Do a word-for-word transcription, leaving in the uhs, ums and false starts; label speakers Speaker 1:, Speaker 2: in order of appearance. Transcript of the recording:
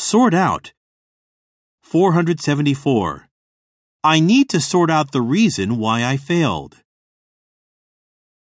Speaker 1: Sort out. four hundred seventy-four. I need to sort out the reason why I failed.